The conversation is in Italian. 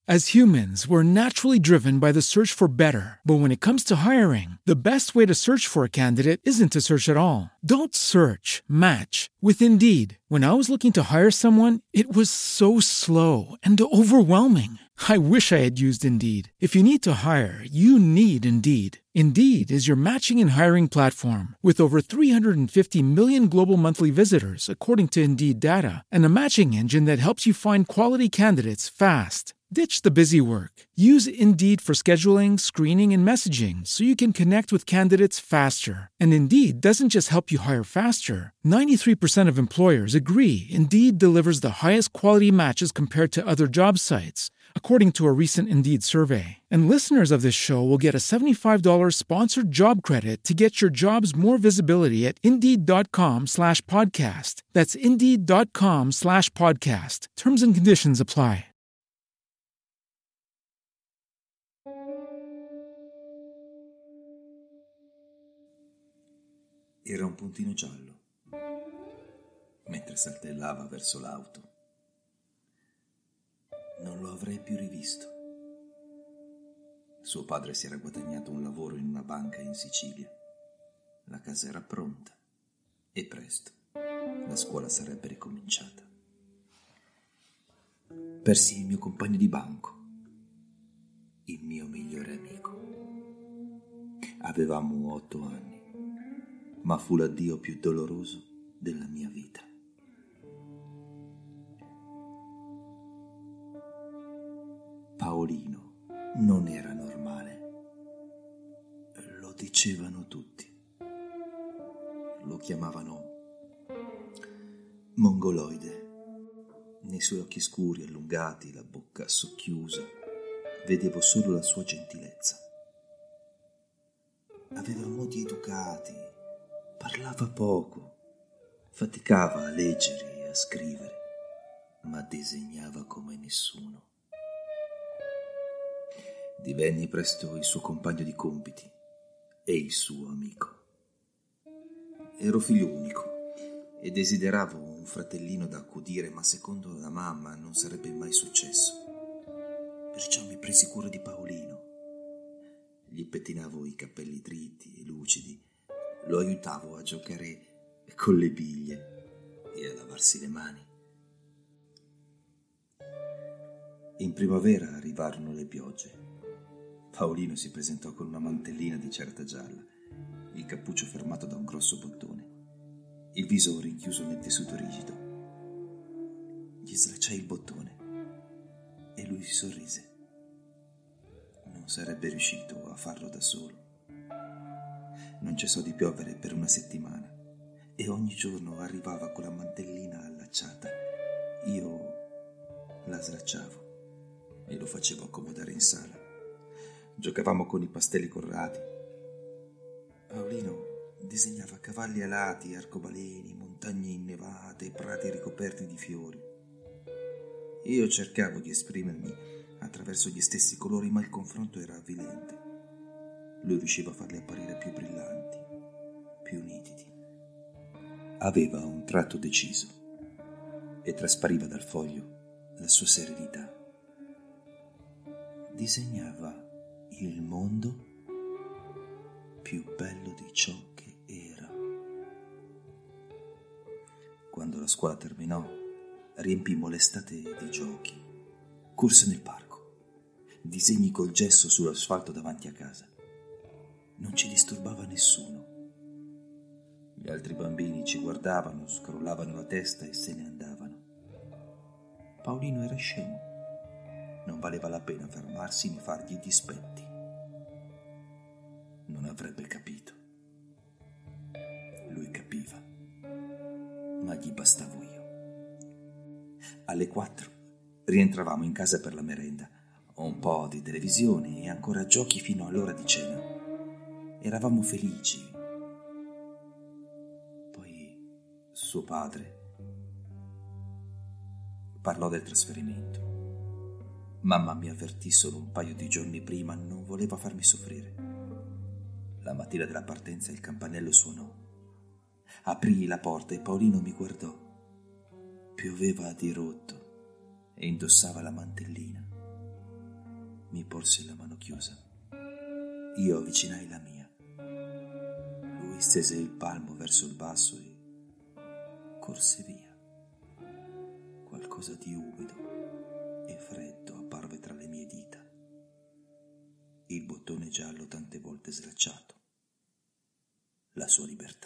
As humans, we're naturally driven by the search for better. But when it comes to hiring, the best way to search for a candidate isn't to search at all. Don't search, match with Indeed. When I was looking to hire someone, it was so slow and overwhelming. I wish I had used Indeed. If you need to hire, you need Indeed. Indeed is your matching and hiring platform with over 350 million global monthly visitors, according to Indeed data, and a matching engine that helps you find quality candidates fast. Ditch the busy work. Use Indeed for scheduling, screening, and messaging so you can connect with candidates faster. And Indeed doesn't just help you hire faster. 93% of employers agree Indeed delivers the highest quality matches compared to other job sites, according to a recent Indeed survey. And listeners of this show will get a $75 sponsored job credit to get your jobs more visibility at Indeed.com/podcast. That's Indeed.com/podcast. Terms and conditions apply. Era un puntino giallo, mentre saltellava verso l'auto. Non lo avrei più rivisto. Suo padre si era guadagnato un lavoro in una banca in Sicilia. La casa era pronta e presto la scuola sarebbe ricominciata. Persi il mio compagno di banco, il mio migliore amico. Avevamo 8 anni. Ma fu l'addio più doloroso della mia vita. Paolino non era normale. Lo dicevano tutti. Lo chiamavano mongoloide. Nei suoi occhi scuri, allungati, la bocca socchiusa, vedevo solo la sua gentilezza. Aveva modi educati. Parlava poco, faticava a leggere e a scrivere, ma disegnava come nessuno. Divenni presto il suo compagno di compiti e il suo amico. Ero figlio unico e desideravo un fratellino da accudire, ma secondo la mamma non sarebbe mai successo. Perciò mi presi cura di Paolino. Gli pettinavo i capelli dritti e lucidi. Lo aiutavo a giocare con le biglie e a lavarsi le mani. In primavera arrivarono le piogge. Paolino si presentò con una mantellina di certa gialla, il cappuccio fermato da un grosso bottone, il viso rinchiuso nel tessuto rigido. Gli slacciai il bottone e lui sorrise. Non sarebbe riuscito a farlo da solo. Non cessò di piovere per una settimana e ogni giorno arrivava con la mantellina allacciata. Io la slacciavo e lo facevo accomodare in sala. Giocavamo con i pastelli colorati. Paolino disegnava cavalli alati, arcobaleni, montagne innevate, prati ricoperti di fiori. Io cercavo di esprimermi attraverso gli stessi colori, ma il confronto era avvilente. Lui riusciva a farli apparire più brillanti, più nitidi. Aveva un tratto deciso e traspariva dal foglio la sua serenità. Disegnava il mondo più bello di ciò che era. Quando la scuola terminò, riempimmo l'estate di giochi, corse nel parco, disegni col gesso sull'asfalto davanti a casa. Non ci disturbava nessuno. Gli altri bambini ci guardavano, scrollavano la testa e se ne andavano. Paolino era scemo. Non valeva la pena fermarsi né fargli i dispetti. Non avrebbe capito. Lui capiva, ma gli bastavo io. Alle 4 rientravamo in casa per la merenda, un po' di televisione e ancora giochi fino all'ora di cena. Eravamo felici. Poi suo padre parlò del trasferimento. Mamma mi avvertì solo un paio di giorni prima, non voleva farmi soffrire. La mattina della partenza il campanello suonò. Aprii la porta e Paolino mi guardò. Pioveva a dirotto e indossava la mantellina. Mi porse la mano chiusa. Io avvicinai la mia. Lui stese il palmo verso il basso e corse via. Qualcosa di umido e freddo apparve tra le mie dita. Il bottone giallo tante volte slacciato. La sua libertà.